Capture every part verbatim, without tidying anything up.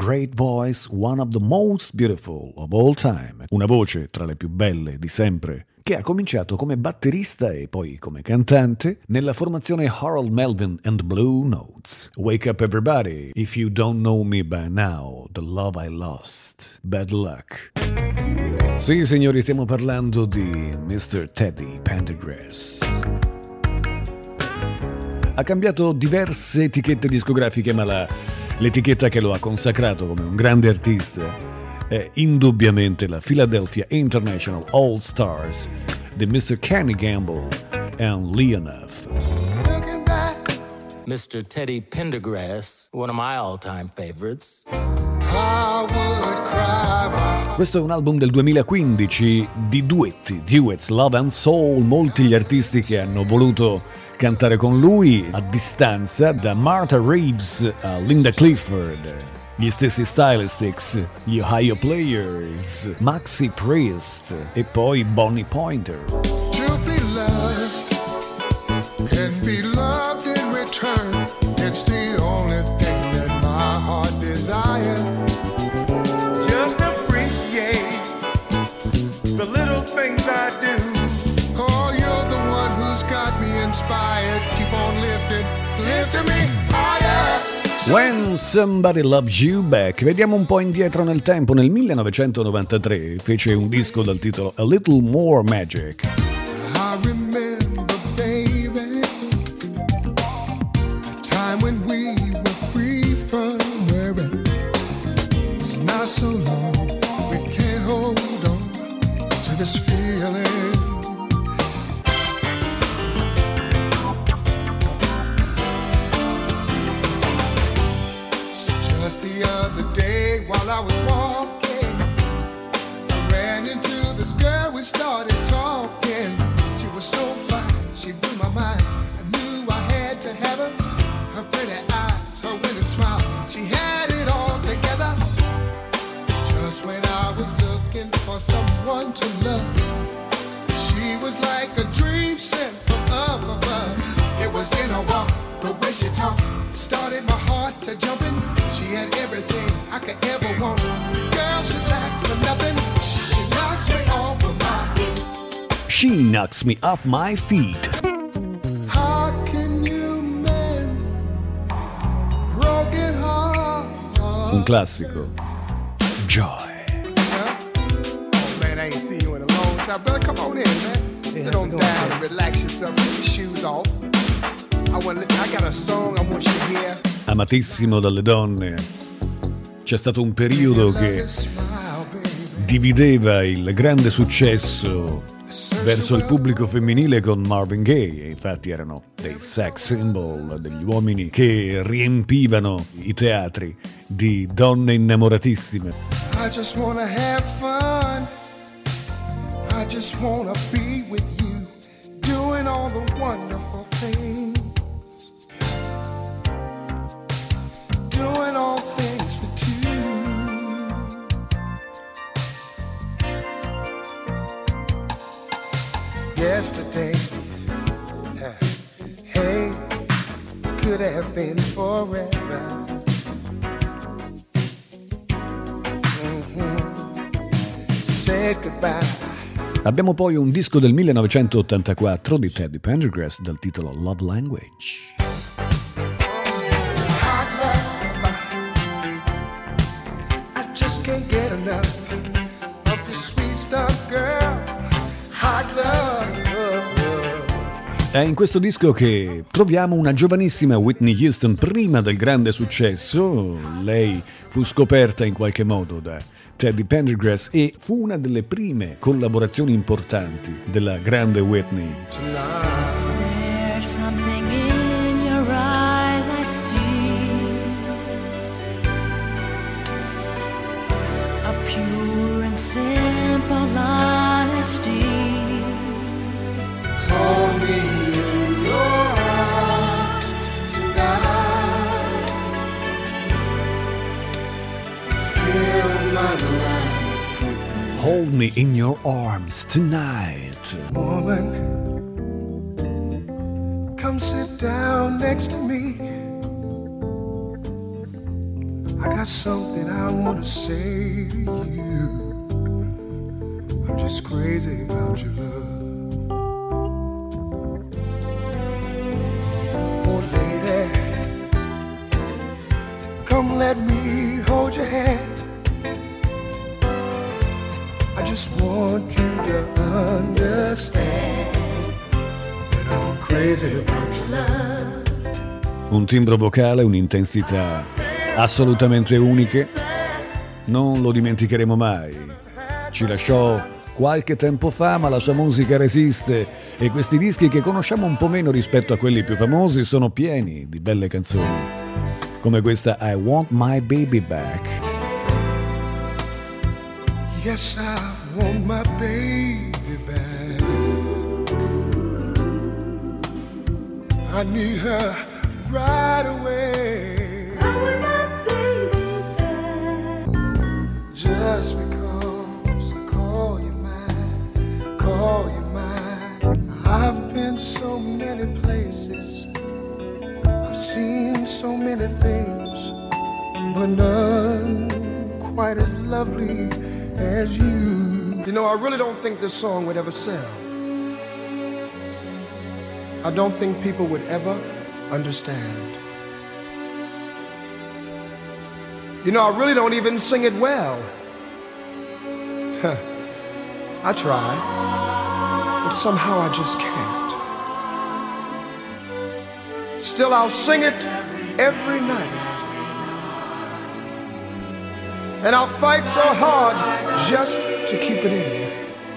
great voice, one of the most beautiful of all time. Una voce tra le più belle di sempre, che ha cominciato come batterista e poi come cantante nella formazione Harold Melvin and the Blue Notes. Wake up everybody, if you don't know me by now, the love I lost, bad luck. Sì, signori, stiamo parlando di mister Teddy Pendergrass. Ha cambiato diverse etichette discografiche, ma la, l'etichetta che lo ha consacrato come un grande artista è indubbiamente la Philadelphia International All Stars di mister Kenny Gamble and Leonoff. mister Teddy Pendergrass, one of my all-time favorites. Questo è un album del duemilaquindici di duetti, duets, Love and Soul, molti gli artisti che hanno voluto cantare con lui a distanza, da Martha Reeves a Linda Clifford, gli stessi Stylistics, gli Ohio Players, Maxi Priest e poi Bonnie Pointer. To be loved and be loved in return, it's the only thing that my heart desires. Just appreciate the little things I do. Oh, you're the one who's got me inspired. Keep on lifting, lifting me higher. When Somebody Loves You Back. Vediamo un po' indietro nel tempo. Nel millenovecentonovantatré fece un disco dal titolo A Little More Magic. I remember, baby, the time when we were free from worry. It's not so long, we can't hold on to this feeling. Just the other day while I was walking, I ran into this girl, we started talking. She was so fine, she blew my mind. I knew I had to have her. Her pretty eyes, her winning smile, she had it all together. Just when I was looking for someone to love, she was like a dream sent from up above. It was in her walk, the way she talked, started my heart to jumping. She had everything I could ever want. Girl, she lacked for nothing. She knocks me off of my feet. She knocks me off my feet. How can you mend broken heart? Un classico. Joy. Oh man, I ain't seen you in a long time. Brother, come on in, man. Hey, Sit on down and relax yourself. Take your shoes off. I want to listen. I got a song I want you to hear. Amatissimo dalle donne. C'è stato un periodo che divideva il grande successo verso il pubblico femminile con Marvin Gaye, e infatti erano dei sex symbol, degli uomini che riempivano i teatri di donne innamoratissime. I just wanna have fun. I just wanna be with you, doing all the wonderful things, doing all things for two. Yesterday, hey, could have been forever. Mm-hmm. Said goodbye. Abbiamo poi un disco del millenovecentottantaquattro di Teddy Pendergrass dal titolo Love Language. È in questo disco che troviamo una giovanissima Whitney Houston prima del grande successo. Lei fu scoperta in qualche modo da Teddy Pendergrass e fu una delle prime collaborazioni importanti della grande Whitney. There's something in your eyes I see, a pure and simple honesty. Hold me in your arms tonight. Fill my life with you. Hold me in your arms tonight. Woman, come sit down next to me. I got something I want to say to you. I'm just crazy about your love. Oh, lady, come let me hold your hand. I just want you to understand that I'm crazy about your love. Un timbro vocale, un'intensità assolutamente uniche. Non lo dimenticheremo mai. Ci lasciò qualche tempo fa, ma la sua musica resiste e questi dischi che conosciamo un po' meno rispetto a quelli più famosi sono pieni di belle canzoni, come questa I Want My Baby Back. Yes, I want my baby back. I need her right away. I want my baby back. Just because I call you mine, call you mine. I've been so many places, I've seen so many things, but none quite as lovely as you. You know, I really don't think this song would ever sell. I don't think people would ever understand. You know, I really don't even sing it well. Huh. I try, but somehow I just can't. Still, I'll sing it every night. And I'll fight so hard just to keep it in.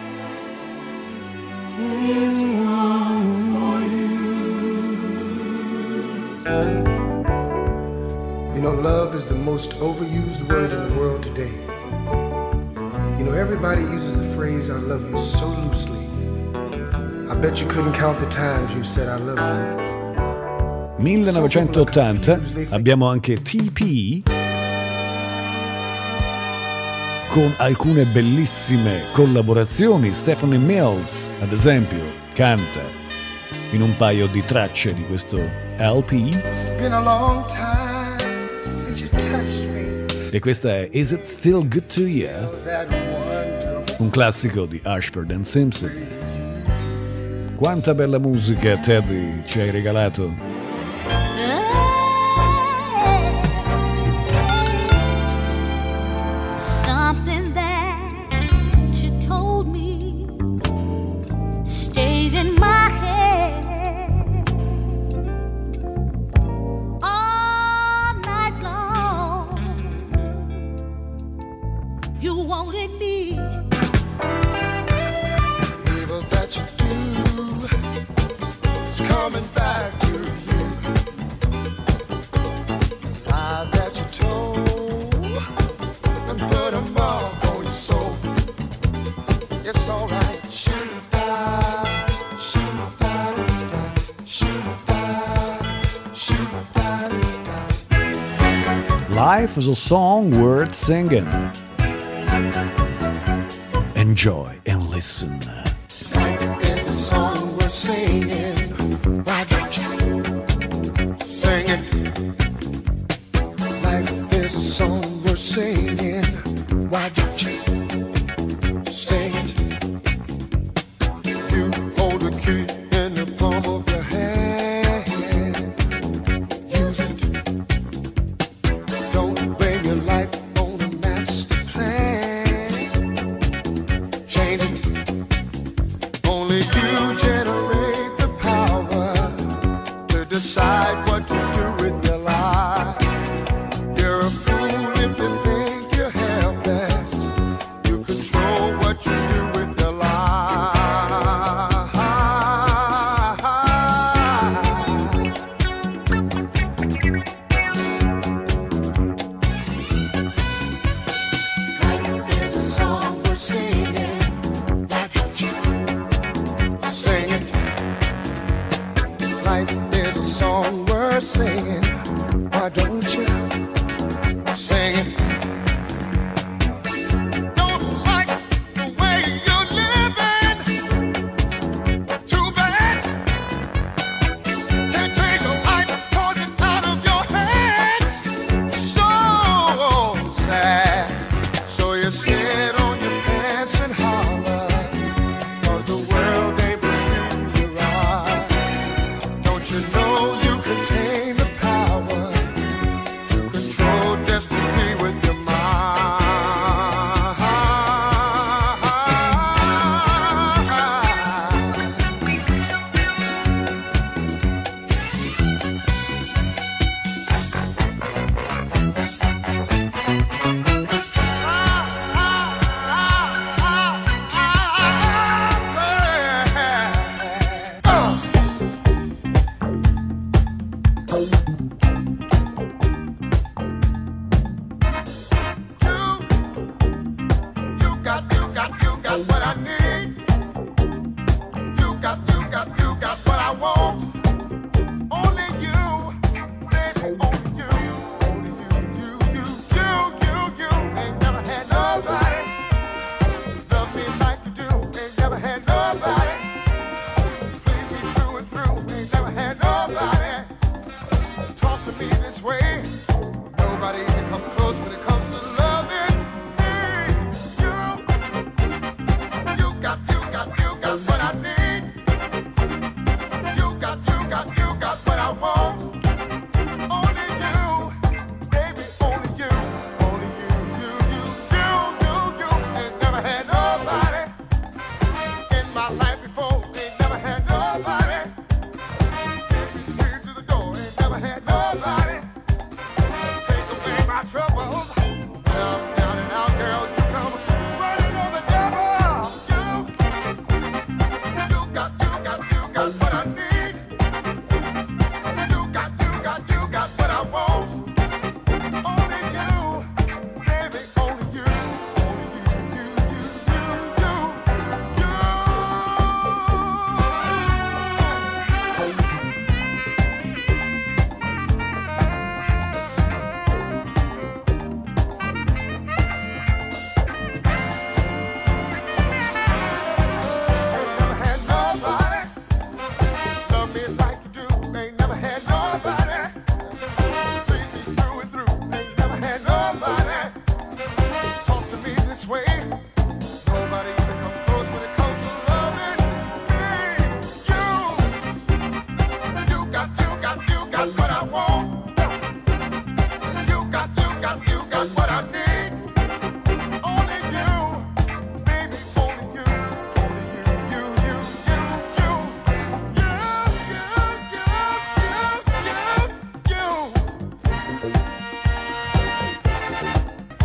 Mm-hmm. You know, love is the most overused word in the world today. You know, everybody uses the phrase I love you so loosely. I bet you couldn't count the times you said I love you. millenovecentottanta abbiamo anche T P con alcune bellissime collaborazioni. Stephanie Mills, ad esempio, canta in un paio di tracce di questo L P. It's been a long time since you touched me. E questa è Is It Still Good to You? Un classico di Ashford and Simpson. Quanta bella musica, Teddy, ci hai regalato. Something that you told me stayed in my head all night long. You wanted me. The evil that you do is coming back to you. The lie that you told and put a mark on your soul. It's alright. Shoot-a-da, shoot-a-da-da-da, shoot-a-da, shoot-a-da-da-da. Life is a song worth singing. Enjoy and listen. It's a song we're singing. Why don't you sing it? Life is a song we're singing. Why don't you sing it? You hold the key in the palm of your hand. Use it. Don't blame your life on a master plan. Change it. Only you generate the power to decide what to do with your life. You're a fool if you think you're helpless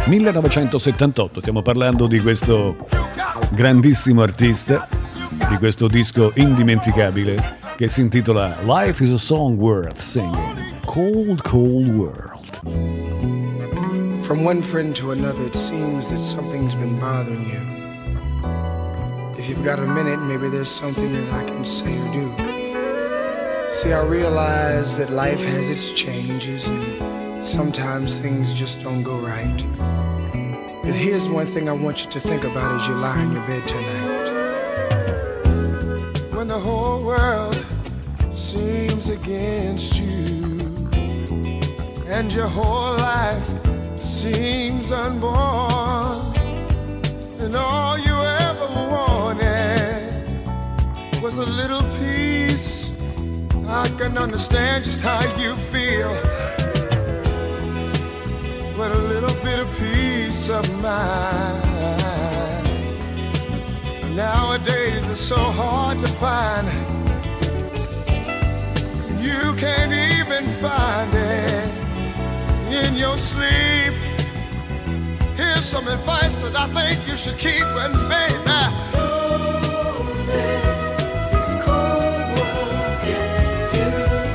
millenovecentosettantotto, stiamo parlando di questo grandissimo artista, di questo disco indimenticabile che si intitola Life is a Song Worth Singing, Cold Cold World. From one friend to another, it seems that something's been bothering you. If you've got a minute, maybe there's something that I can say or do. See, I realize that life has its changes and sometimes things just don't go right. But here's one thing I want you to think about as you lie in your bed tonight. When the whole world seems against you and your whole life seems unborn, and all you ever wanted was a little peace, I can understand just how you feel. But a little bit of peace of mind nowadays is so hard to find. You can't even find it in your sleep. Here's some advice that I think you should keep, and baby, don't let this cold world get you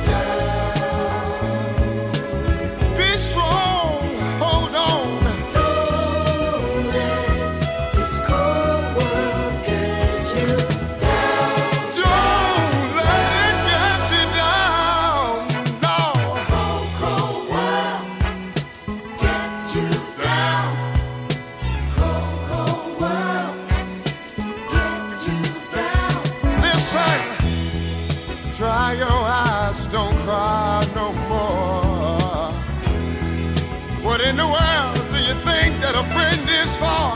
down. Be strong, hold on. Don't let this cold world get you down. Don't let it get you down. No. Cold, cold world get you down. Cold, cold world get you down. Listen, dry your eyes, don't cry no more. What in the world do you think that a friend is for?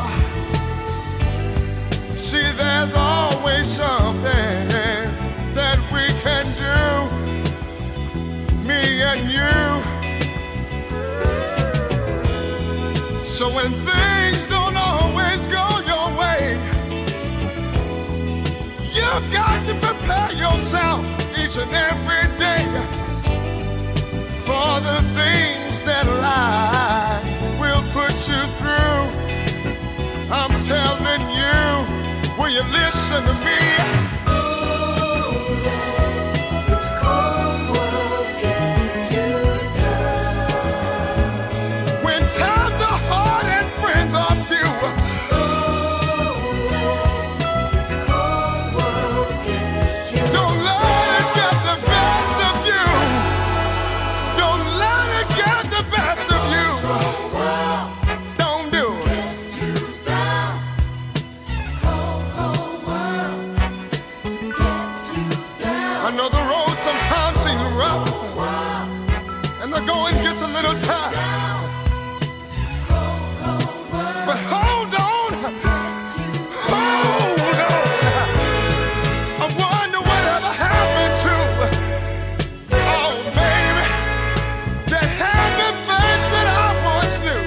See, there's always something that we can do, me and you. So when things don't always go your way, you've got to prepare yourself each and every day for the things that life will put you through. I'm telling you, will you listen to me? Don't let this cold world get you down. When times are hard and friends are few, don't let this cold world get you down. Don't let it get the best of you. Don't let it get the best of you. Don't do it. I know the road sometimes seems rough, and the going gets a little tough. But hold on, hold on. I wonder whatever happened to, oh baby, that happy face that I once knew.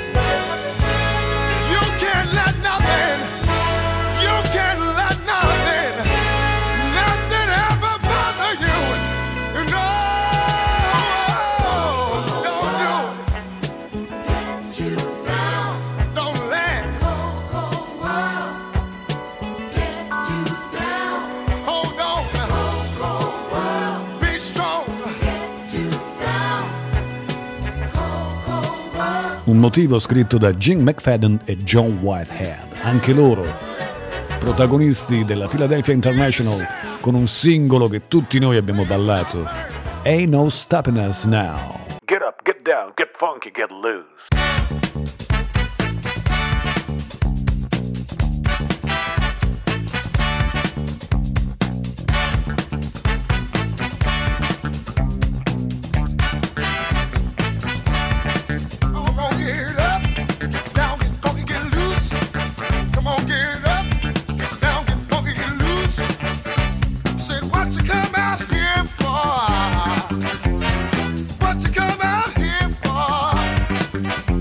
You can't let nothing, you can't let nothing, nothing ever bother you. No, don't do it. Get you down. Don't let cold, cold world get you down. Hold on. Cold, cold world. Be strong. Get you down. Cold, cold world. Un motivo scritto da Gene McFadden e John Whitehead, anche loro protagonisti della Philadelphia International, con un singolo che tutti noi abbiamo ballato, Ain't No Stopping Us Now. Get up, get down, get funky, get loose. Come on, get up, down, get funky, get loose. Come on, get up, down, get funky, get loose. Said, what you come out here for? What you come out here for?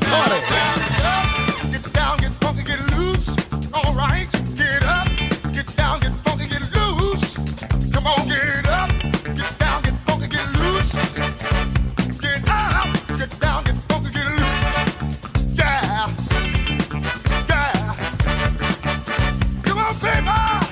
party. Get down, get funky, get loose. All right, get up, get down, get funky, get loose. Come on, get up, get down, get funky, get loose. Get up, get down, get funky, get loose. Yeah, yeah. Come on, baby.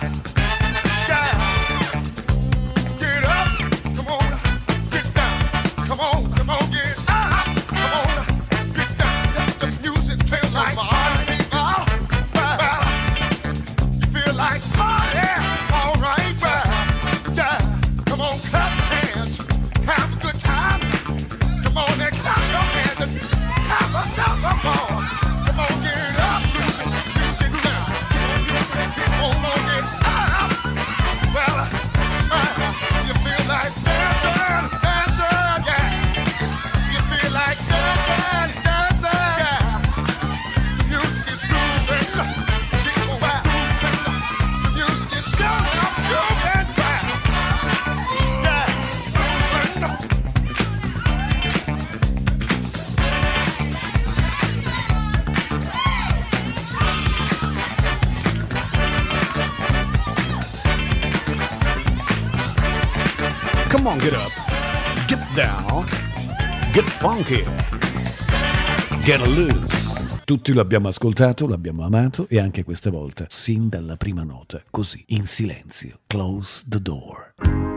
Come on, get up, get down, get funky, get loose. Tutti lo abbiamo ascoltato, l'abbiamo amato e anche questa volta, sin dalla prima nota, così, in silenzio. Close the door.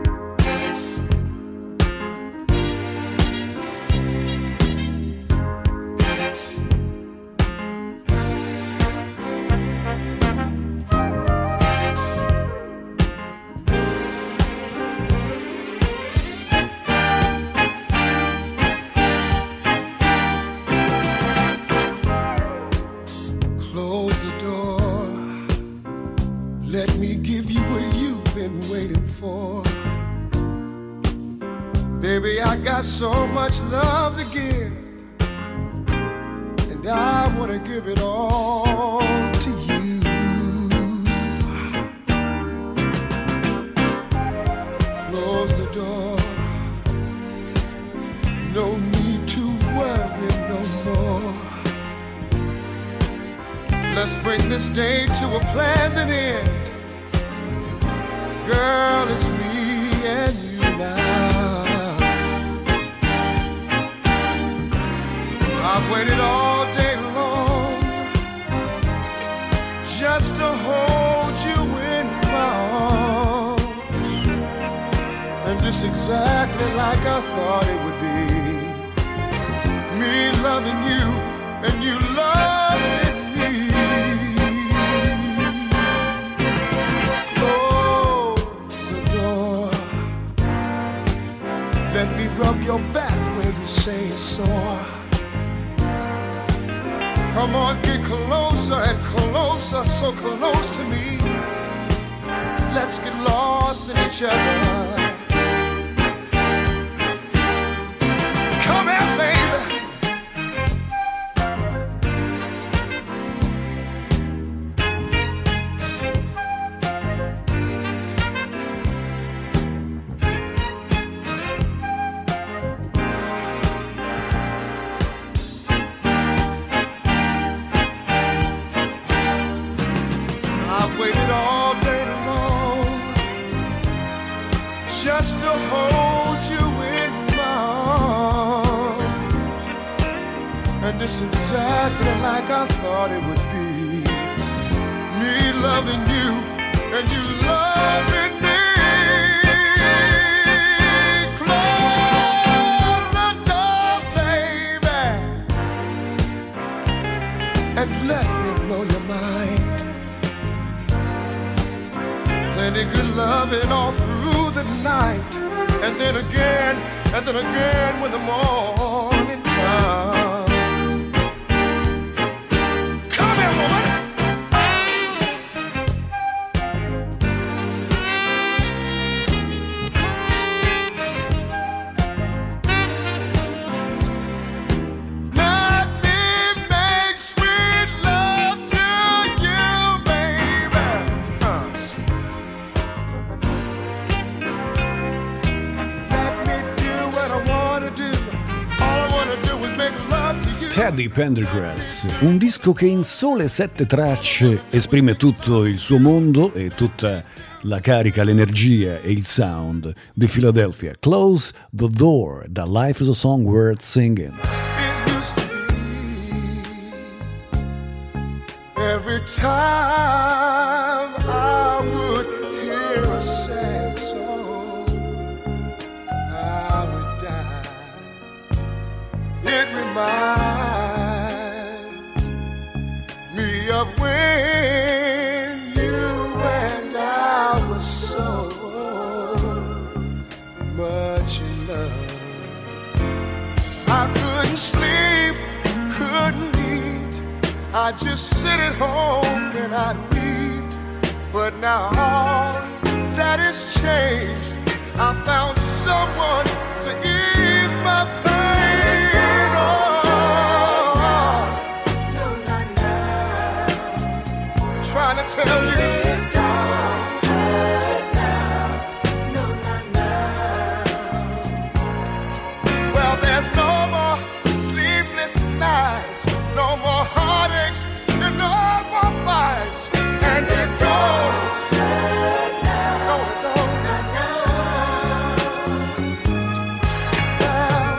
Baby, I got so much love to give, and I want to give it all to you. Close the door, no need to worry no more. Let's bring this day to a pleasant end. Girl, it's me and you now. I've waited all day long just to hold you in my arms, and just exactly like I thought it would be. Me loving you and you loving me. Close the door, let me rub your back where you say it's sore. Come on, get closer and closer, so close to me. Let's get lost in each other. Come here, baby. Just to hold you in my arms, and it's exactly like I thought it would be. Me loving you and you loving me. Close the door, baby, and let me blow your mind. Plenty good loving all through the night, and then again, and then again when the morning comes. Come here, woman. Let me make sweet love to you, baby. Uh. Let me do what I wanna do. All I wanna do is make love. Teddy Pendergrass, un disco che in sole sette tracce esprime tutto il suo mondo e tutta la carica, l'energia e il sound di Philadelphia. Close the Door, da Life is a Song Worth Singing. It used to be every time I would hear a sad song, I would die. It reminds me of when you and I were so much in love. I couldn't sleep, couldn't eat, I'd just sit at home and I'd weep. But now all that has changed, I found someone to ease my pain. Trying to tell you it don't hurt now. No, not now. Well, there's no more sleepless nights, no more heartaches, and no more fights. And it don't hurt now. No, it don't. Not now.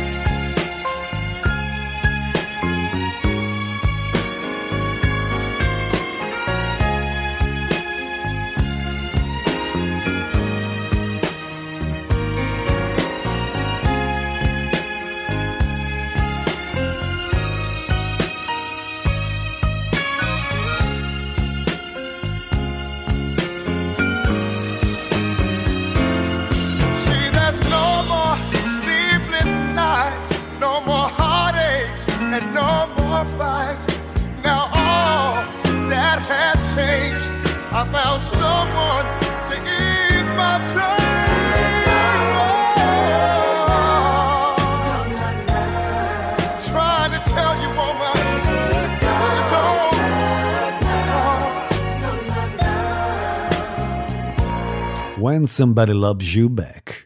And no more fights. Now all that has changed. I found someone to ease my pain. Oh, trying to tell you, woman, it don't. Oh. When Somebody Loves You Back.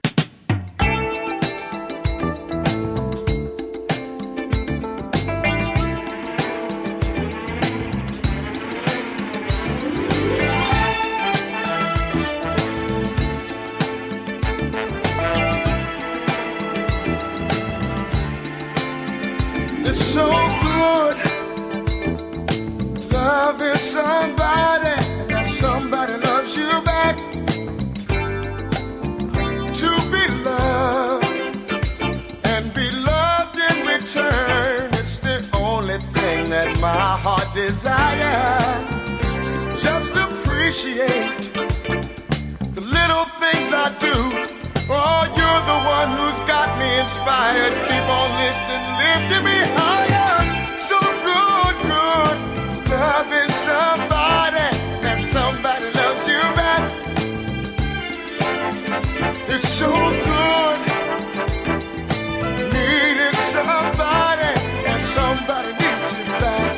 It's so good loving somebody, that somebody loves you back. To be loved and be loved in return, it's the only thing that my heart desires. Just appreciate the little things I do. Oh, you're the one who's got me inspired. Keep on lifting, lifting me higher. So good, good, loving somebody, and somebody loves you back. It's so good, needing somebody, and somebody needs you back.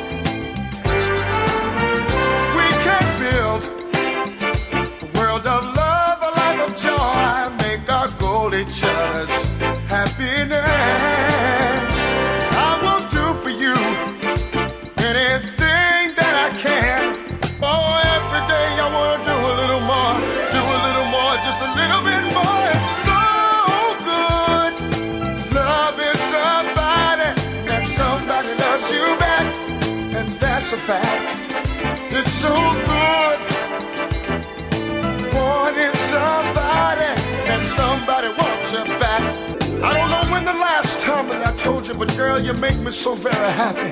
We can build a world of love, a life of joy, make our goal each other's happiness. I will do for you anything that I can. Oh, every day I want to do a little more, do a little more, just a little bit more. It's so good loving somebody, that somebody loves you back, and that's a fact. It's so good wanting somebody, and somebody wants you back. I don't know when the last time that I told you, but girl, you make me so very happy.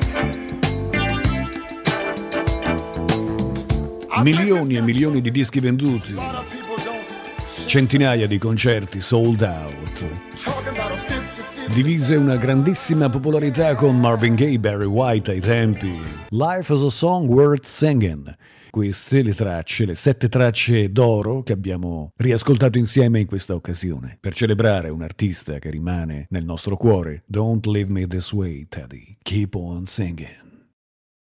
Milioni e milioni di dischi venduti, centinaia di concerti sold out, divise una grandissima popolarità con Marvin Gaye, Barry White ai tempi. Life is a Song Worth Singing. Queste le tracce, le sette tracce d'oro che abbiamo riascoltato insieme in questa occasione per celebrare un artista che rimane nel nostro cuore. Don't leave me this way, Teddy. Keep on singing.